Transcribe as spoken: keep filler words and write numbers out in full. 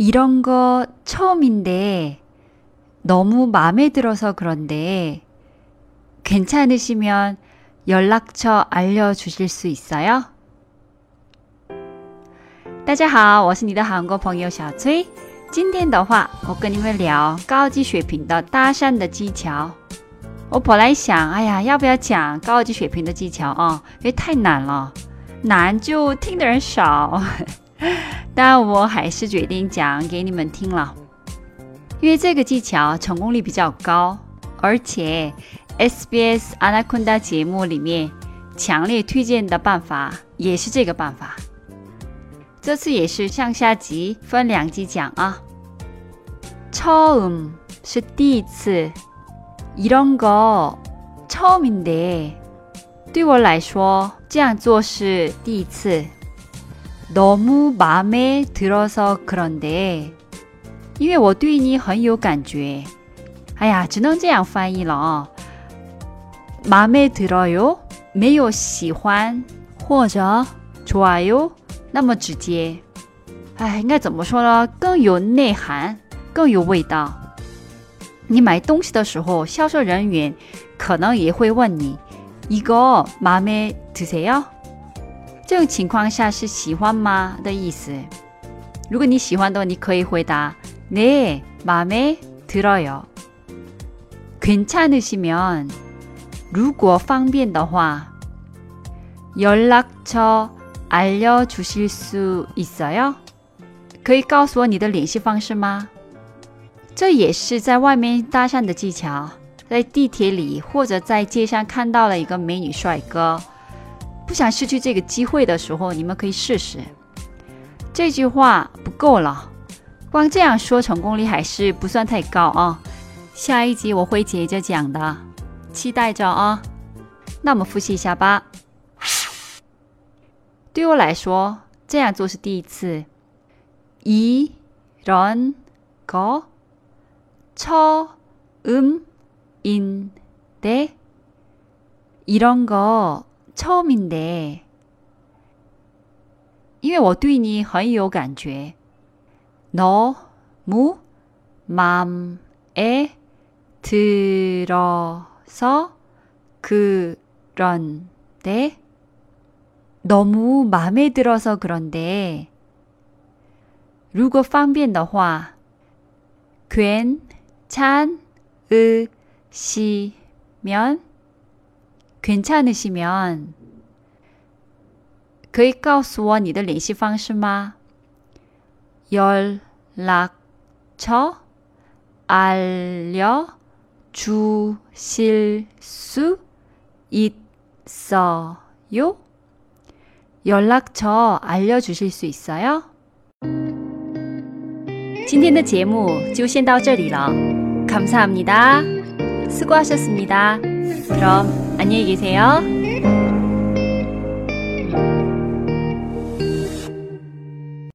이런 거 처음인데 너무 마음에 들어서 그런데 괜찮으시면 연락처 알려주실 수 있어요? 大家好，我是你的韩国朋友小崔。今天的话，我跟你们聊高级水平的搭讪的技巧。我本来想，哎呀，要不要讲高级水平的技巧啊？因为太难了，难就听的人少。但我还是决定讲给你们听了，因为这个技巧成功率比较高，而且 S B S Anaconda 节目里面强烈推荐的办法也是这个办法。这次也是上下集分两集讲啊。처음是第一次，이런 거 처음인데对我来说这样做是第一次。너무 마음에 들어서 그런데因为我对你很有感觉。哎呀，只能这样翻译了啊。마음에 들어요没有喜欢或者좋아요那么直接，哎，应该怎么说呢？更有内涵，更有味道。你买东西的时候，销售人员可能也会问你，이거 마음에 드세요？这种情况下是喜欢吗的意思。如果你喜欢的话，你可以回答네 마음에 들어요。괜찮으시면如果方便的话，연락처 알려주실 수 있어요？可以告诉我你的联系方式吗？这也是在外面搭讪的技巧，在地铁里或者在街上看到了一个美女帅哥，不想失去这个机会的时候，你们可以试试。这句话不够了，光这样说成功率还是不算太高啊。下一集我会接着讲的，期待着啊。那我们复习一下吧。对我来说，这样做是第一次。이런 거 처음인데 이런 거 처음인데因为我对你很有感觉。너무 마음에 들어서 그런데 너무 마음에 들어서 그런데 如果方便的话 괜찮으시면 괜찮으시면 可以告诉我你的联系方式吗？ 연락처 알려주실 수 있어요? 연락처 알려주실 수 있어요? 今天的节目就先到这里了。감사합니다. 수고하셨습니다. 그럼 안녕히 계세요.